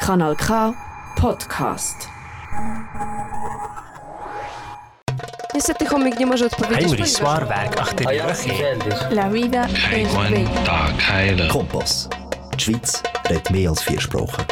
Kanal K Podcast. Niestety chomik nie może odpowiedzieć. Heinrich Zwaarwerk achter die rug. La vida es bella. Tag heilen. Kompass. Die Schweiz redet mehr als 4 Sprachen.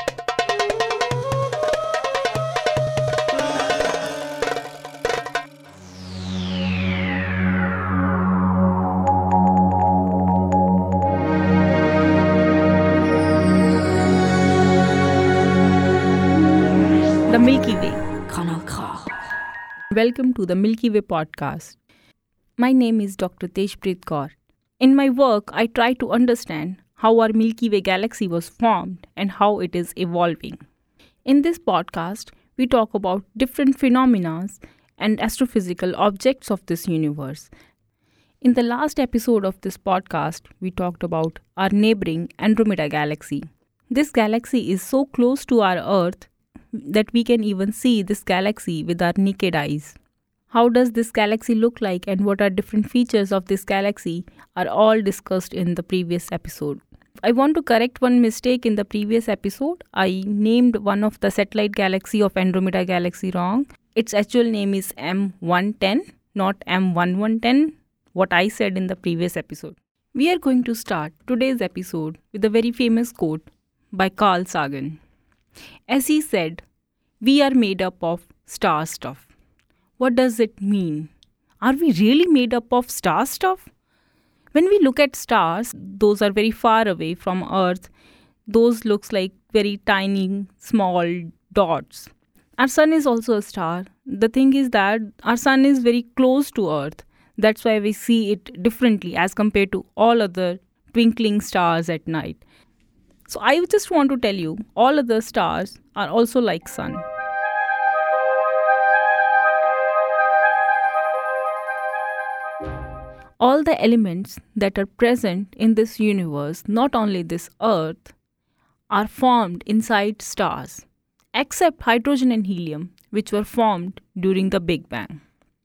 The Milky Way. Kanal K. Welcome to the Milky Way podcast. My name is Dr. Tejpreet Kaur. In my work, I try to understand how our Milky Way galaxy was formed and how it is evolving. In this podcast, we talk about different phenomena and astrophysical objects of this universe. In the last episode of this podcast, we talked about our neighboring Andromeda galaxy. This galaxy is so close to our Earth that we can even see this galaxy with our naked eyes. How does this galaxy look like and what are different features of this galaxy are all discussed in the previous episode. I want to correct one mistake in the previous episode. I named one of the satellite galaxy of Andromeda galaxy wrong. Its actual name is M110, not M1110, what I said in the previous episode. We are going to start today's episode with a very famous quote by Carl Sagan. As he said, we are made up of star stuff. What does it mean? Are we really made up of star stuff? When we look at stars, those are very far away from Earth. Those looks like very tiny, small dots. Our sun is also a star. The thing is that our sun is very close to Earth. That's why we see it differently as compared to all other twinkling stars at night. So I just want to tell you, all other stars are also like sun. All the elements that are present in this universe, not only this Earth, are formed inside stars, except hydrogen and helium, which were formed during the Big Bang.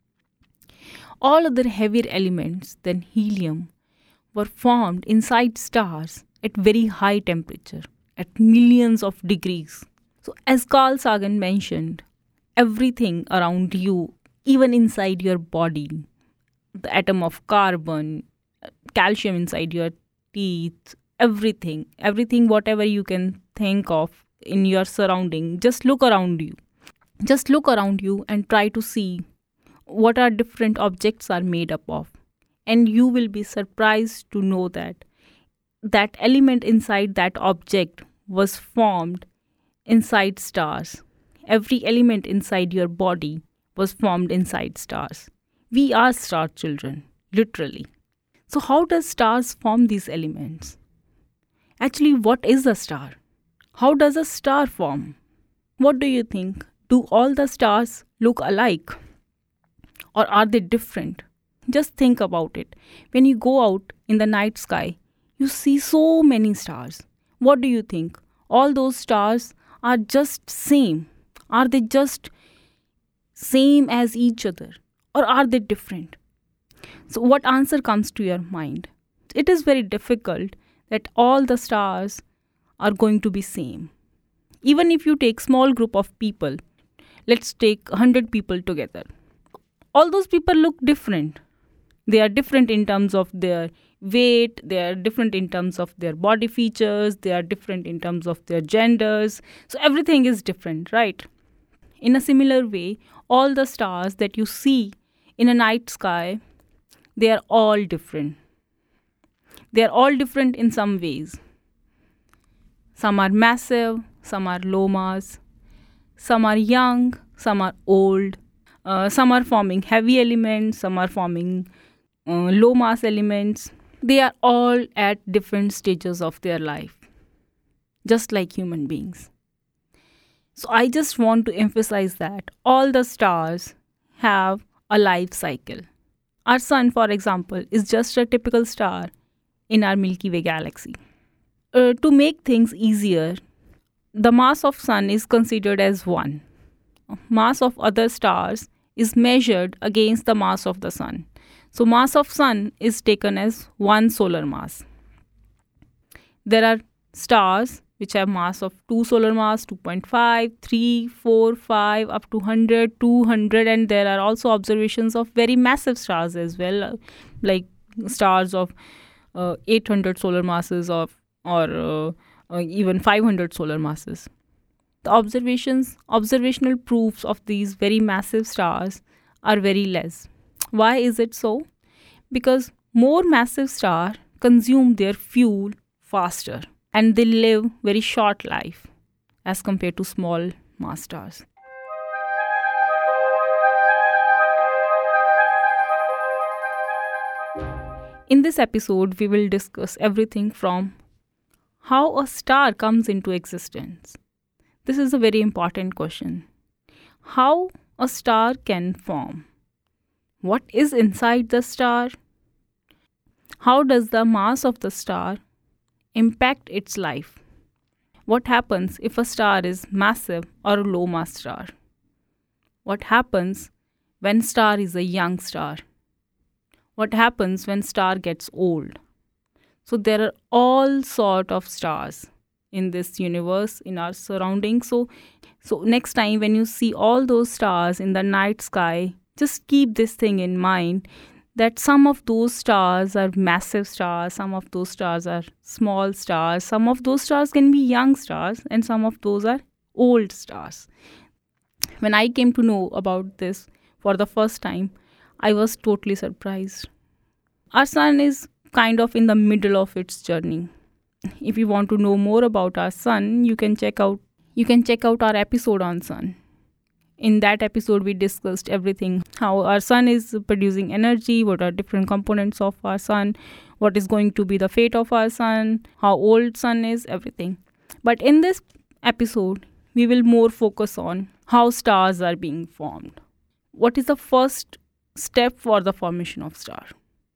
All other heavier elements than helium were formed inside stars at very high temperature, at millions of degrees. So as Carl Sagan mentioned, everything around you, even inside your body, the atom of carbon, calcium inside your teeth, everything, whatever you can think of in your surrounding, just look around you. Just look around you and try to see what our different objects are made up of. And you will be surprised to know that that element inside that object was formed inside stars. Every element inside your body was formed inside stars. We are star children, literally. So how does stars form these elements? Actually, what is a star? How does a star form? What do you think? Do all the stars look alike? Or are they different? Just think about it. When you go out in the night sky, you see so many stars. What do you think? All those stars are just same. Are they just same as each other? Or are they different? So what answer comes to your mind? It is very difficult that all the stars are going to be same. Even if you take small group of people, let's take 100 people together. All those people look different. They are different in terms of their weight, they are different in terms of their body features, they are different in terms of their genders. So everything is different, right? In a similar way, all the stars that you see in a night sky, they are all different. They are all different in some ways. Some are massive, some are low mass, some are young, some are old, some are forming heavy elements, some are forming low mass elements. They are all at different stages of their life, just like human beings. So I just want to emphasize that all the stars have a life cycle. Our sun, for example, is just a typical star in our Milky Way galaxy. To make things easier, the mass of sun is considered as 1. Mass of other stars is measured against the mass of the sun. So mass of sun is taken as 1 solar mass. There are stars which have mass of 2 solar mass, 2.5, 3, 4, 5, up to 100, 200, and there are also observations of very massive stars as well, like stars of 800 solar masses or even 500 solar masses. The observational proofs of these very massive stars are very less. Why is it so? Because more massive stars consume their fuel faster and they live very short life as compared to small mass stars. In this episode, we will discuss everything from how a star comes into existence. This is a very important question. How a star can form? What is inside the star? How does the mass of the star impact its life? What happens if a star is massive or a low mass star? What happens when star is a young star? What happens when star gets old? So there are all sort of stars in this universe, in our surroundings. So next time when you see all those stars in the night sky, just keep this thing in mind, that some of those stars are massive stars, some of those stars are small stars, some of those stars can be young stars, and some of those are old stars. When I came to know about this for the first time, I was totally surprised. Our sun is kind of in the middle of its journey. If you want to know more about our sun, you can check out our episode on sun. In that episode, we discussed everything, how our sun is producing energy, what are different components of our sun, what is going to be the fate of our sun, how old sun is, everything. But in this episode, we will more focus on how stars are being formed. What is the first step for the formation of star?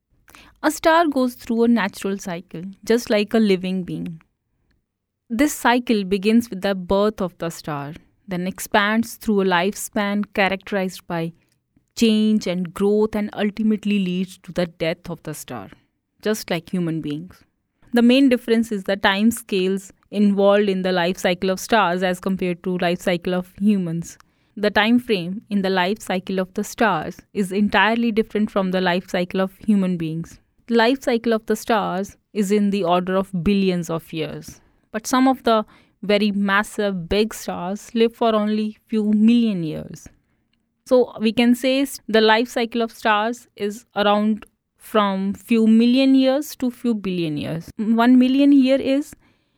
A star goes through a natural cycle, just like a living being. This cycle begins with the birth of the star, then expands through a lifespan characterized by change and growth, and ultimately leads to the death of the star, just like human beings. The main difference is the time scales involved in the life cycle of stars as compared to life cycle of humans. The time frame in the life cycle of the stars is entirely different from the life cycle of human beings. The life cycle of the stars is in the order of billions of years. But some of the very massive big stars live for only few million years. So we can say the life cycle of stars is around from few million years to few billion years. 1 million year is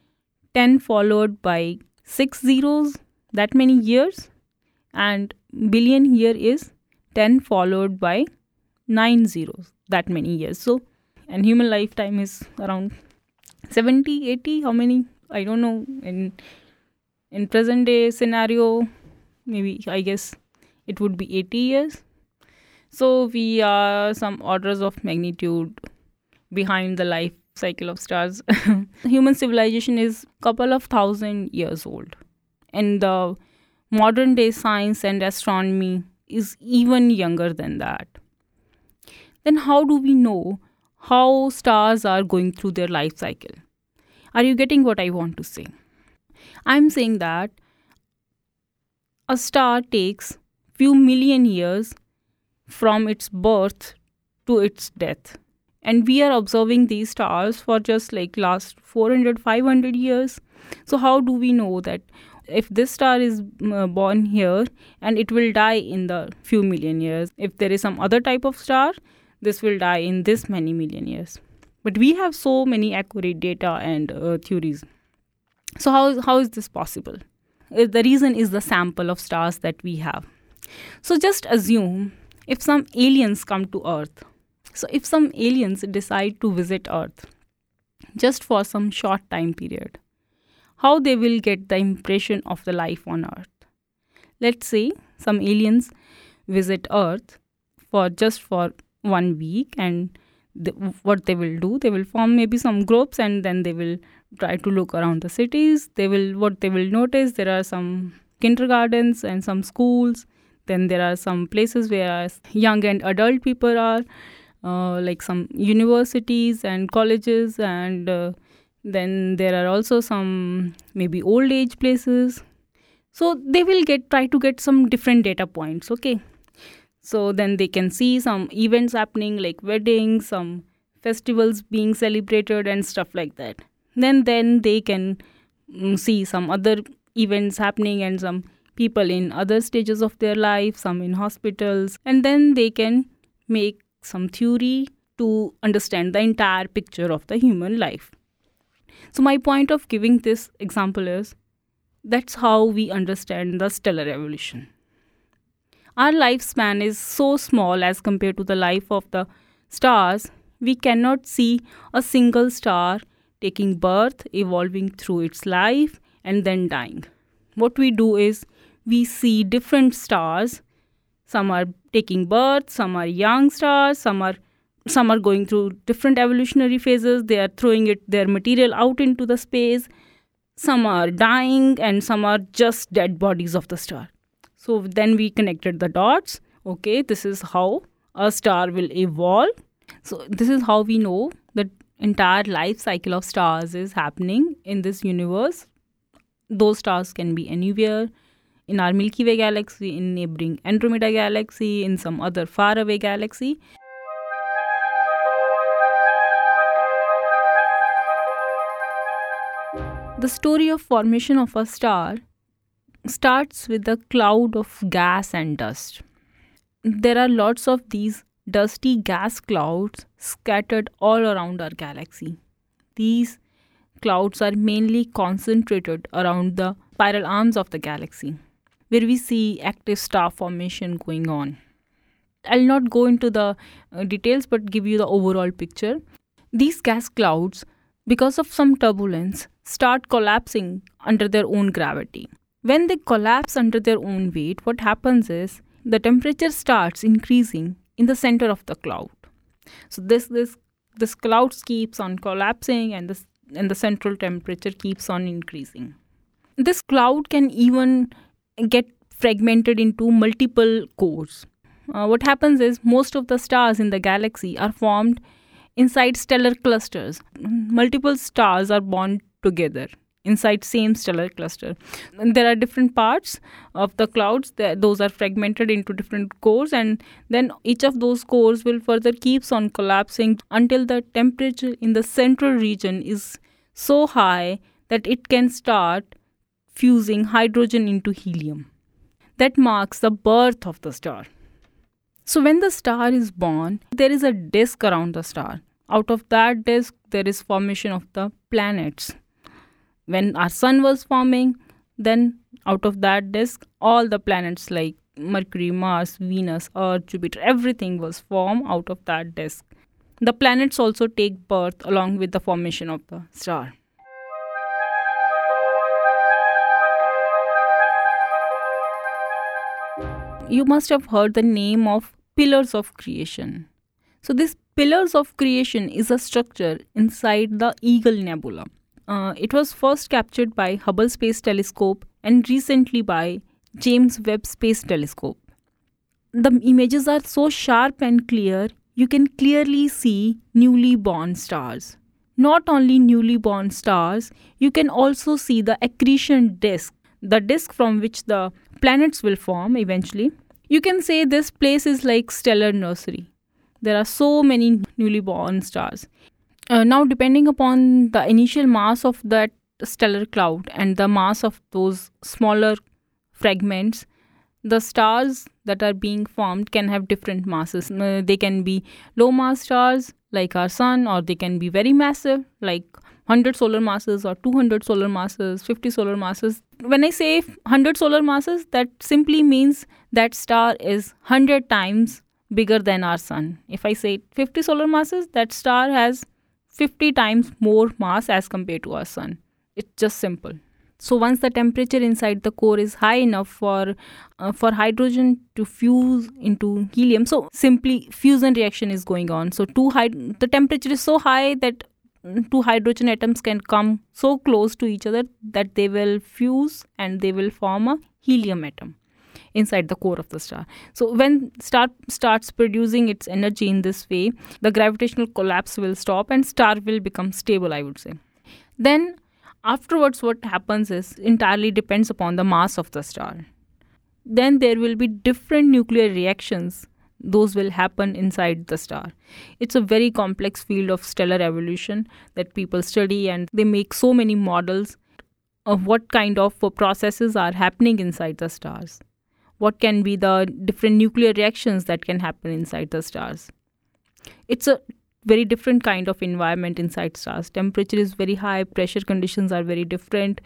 10 followed by 6 zeros, that many years. And billion year is 10 followed by 9 zeros, that many years. So, and human lifetime is around 70, 80, how many? I don't know. In present day scenario, maybe I guess it would be 80 years. So we are some orders of magnitude behind the life cycle of stars. Human civilization is couple of thousand years old. And the modern day science and astronomy is even younger than that. Then how do we know how stars are going through their life cycle? Are you getting what I want to say? I'm saying that a star takes few million years from its birth to its death. And we are observing these stars for just like last 400, 500 years. So how do we know that if this star is born here and it will die in the few million years? If there is some other type of star, this will die in this many million years. But we have so many accurate data and theories. So how is this possible? The reason is the sample of stars that we have. So just assume if some aliens come to Earth. So if some aliens decide to visit Earth just for some short time period, how they will get the impression of the life on Earth? Let's say some aliens visit Earth for 1 week, and what they will do, they will form maybe some groups, and then they will try to look around the cities. What they will notice, there are some kindergartens and some schools. Then there are some places where young and adult people are, like some universities and colleges and Then there are also some maybe old age places. So they will try to get some different data points, okay? So then they can see some events happening like weddings, some festivals being celebrated and stuff like that. Then they can see some other events happening and some people in other stages of their life, some in hospitals, and then they can make some theory to understand the entire picture of the human life. So my point of giving this example is that's how we understand the stellar evolution. Our lifespan is so small as compared to the life of the stars. We cannot see a single star taking birth, evolving through its life, and then dying. What we do is we see different stars. Some are taking birth, some are young stars, some are going through different evolutionary phases. They are throwing their material out into the space. Some are dying and some are just dead bodies of the star. So then we connected the dots. Okay, this is how a star will evolve. So this is how we know the entire life cycle of stars is happening in this universe. Those stars can be anywhere in our Milky Way galaxy, in neighboring Andromeda galaxy, in some other faraway galaxy. The story of formation of a star starts with a cloud of gas and dust. There are lots of these dusty gas clouds scattered all around our galaxy. These clouds are mainly concentrated around the spiral arms of the galaxy, where we see active star formation going on. I'll not go into the details but give you the overall picture. These gas clouds, because of some turbulence, start collapsing under their own gravity. When they collapse under their own weight, what happens is the temperature starts increasing in the center of the cloud. So this cloud keeps on collapsing and the central temperature keeps on increasing. This cloud can even get fragmented into multiple cores. What happens is most of the stars in the galaxy are formed inside stellar clusters. Multiple stars are born together inside same stellar cluster. And there are different parts of the clouds. Those are fragmented into different cores, and then each of those cores will further keeps on collapsing until the temperature in the central region is so high that it can start fusing hydrogen into helium. That marks the birth of the star. So when the star is born, there is a disk around the star. Out of that disk, there is formation of the planets. When our sun was forming, then out of that disk, all the planets like Mercury, Mars, Venus, Earth, Jupiter, everything was formed out of that disk. The planets also take birth along with the formation of the star. You must have heard the name of pillars of creation. So this pillars of creation is a structure inside the Eagle Nebula. It was first captured by Hubble Space Telescope and recently by James Webb Space Telescope. The images are so sharp and clear, you can clearly see newly born stars. Not only newly born stars, you can also see the accretion disk, the disk from which the planets will form eventually. You can say this place is like stellar nursery. There are so many newly born stars. Now, depending upon the initial mass of that stellar cloud and the mass of those smaller fragments, the stars that are being formed can have different masses. They can be low mass stars like our sun, or they can be very massive like 100 solar masses or 200 solar masses, 50 solar masses. When I say 100 solar masses, that simply means that star is 100 times bigger than our sun. If I say 50 solar masses, that star has 50 times more mass as compared to our sun. It's just simple. So once the temperature inside the core is high enough for hydrogen to fuse into helium, so simply fusion reaction is going on. So the temperature is so high that two hydrogen atoms can come so close to each other that they will fuse and they will form a helium atom inside the core of the star. So when star starts producing its energy in this way, the gravitational collapse will stop and star will become stable, I would say. Then afterwards what happens is entirely depends upon the mass of the star. Then there will be different nuclear reactions. Those will happen inside the star. It's a very complex field of stellar evolution that people study, and they make so many models of what kind of processes are happening inside the stars. What can be the different nuclear reactions that can happen inside the stars. It's a very different kind of environment inside stars. Temperature is very high, pressure conditions are very different.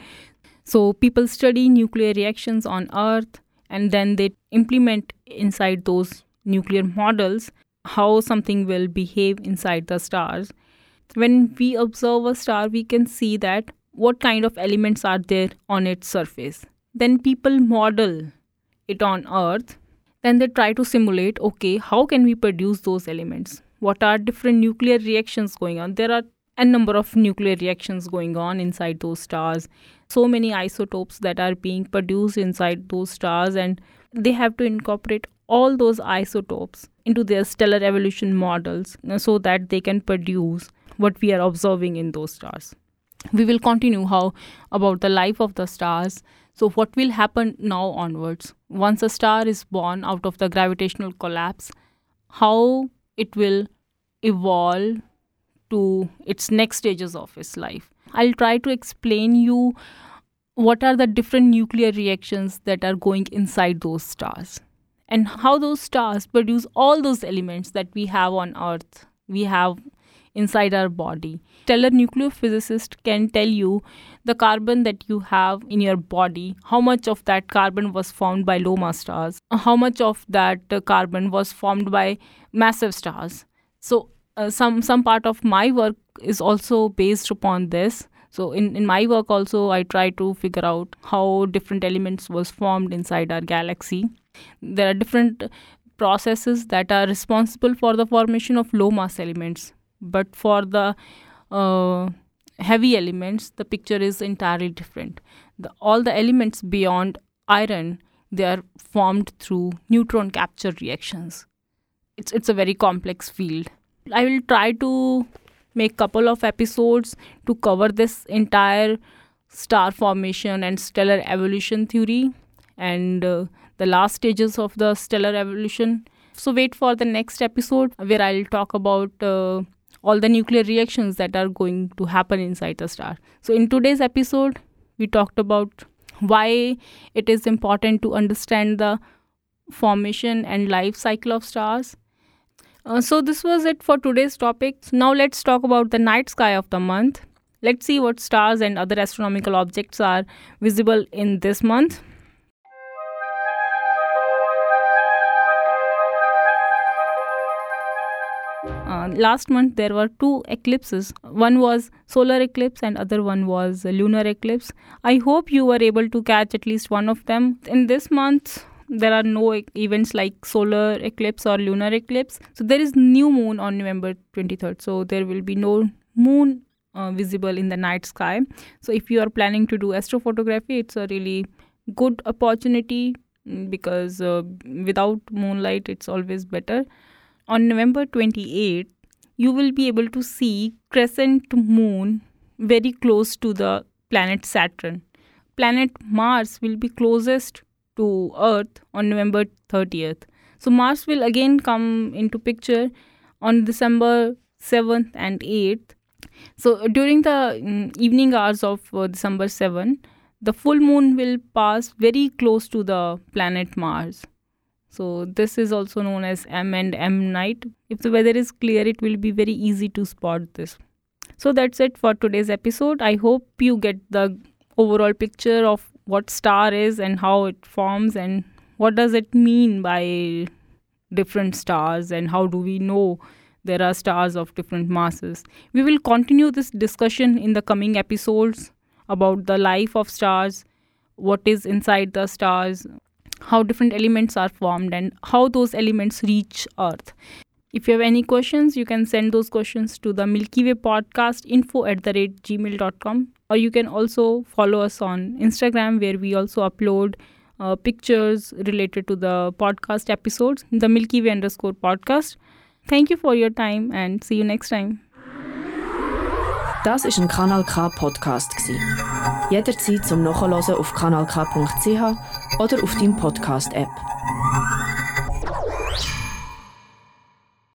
So people study nuclear reactions on Earth, and then they implement inside those nuclear models how something will behave inside the stars. When we observe a star, we can see that what kind of elements are there on its surface. Then people model it on Earth. Then they try to simulate, okay, how can we produce those elements? What are different nuclear reactions going on? There are a number of nuclear reactions going on inside those stars. So many isotopes that are being produced inside those stars, and they have to incorporate all those isotopes into their stellar evolution models so that they can produce what we are observing in those stars. We will continue about the life of the stars. So what will happen now onwards? Once a star is born out of the gravitational collapse, how it will evolve to its next stages of its life. I'll try to explain you what are the different nuclear reactions that are going inside those stars and how those stars produce all those elements that we have on Earth, we have inside our body. Stellar nucleophysicist can tell you the carbon that you have in your body, how much of that carbon was formed by low mass stars, how much of that carbon was formed by massive stars. So some part of my work is also based upon this. So in my work also, I try to figure out how different elements was formed inside our galaxy. There are different processes that are responsible for the formation of low mass elements. But for the heavy elements, the picture is entirely different. All the elements beyond iron, they are formed through neutron capture reactions. It's a very complex field. I will try to make couple of episodes to cover this entire star formation and stellar evolution theory and the last stages of the stellar evolution. So wait for the next episode where I'll talk about all the nuclear reactions that are going to happen inside the star. So in today's episode, we talked about why it is important to understand the formation and life cycle of stars. So this was it for today's topic. Now let's talk about the night sky of the month. Let's see what stars and other astronomical objects are visible in this month. Last month there were 2 eclipses. One was solar eclipse and other one was lunar eclipse. I hope you were able to catch at least one of them. In this month, there are no events like solar eclipse or lunar eclipse. So there is new moon on November 23rd. So there will be no moon visible in the night sky. So if you are planning to do astrophotography, it's a really good opportunity because without moonlight, it's always better. On November 28th, you will be able to see crescent moon very close to the planet Saturn. Planet Mars will be closest to Earth on November 30th. So Mars will again come into picture on December 7th and 8th. So during the evening hours of December 7th, the full moon will pass very close to the planet Mars. So this is also known as M and M night. If the weather is clear, it will be very easy to spot this. So that's it for today's episode. I hope you get the overall picture of what star is and how it forms and what does it mean by different stars and how do we know there are stars of different masses. We will continue this discussion in the coming episodes about the life of stars, what is inside the stars, how different elements are formed and how those elements reach Earth. If you have any questions, you can send those questions to the Milky Way podcast info@gmail.com, or you can also follow us on Instagram where we also upload pictures related to the podcast episodes, the Milky Way _podcast. Thank you for your time and see you next time. Das war ein Kanal K Podcast. Jederzeit zum Nachhören auf kanalk.ch oder auf deinem Podcast-App.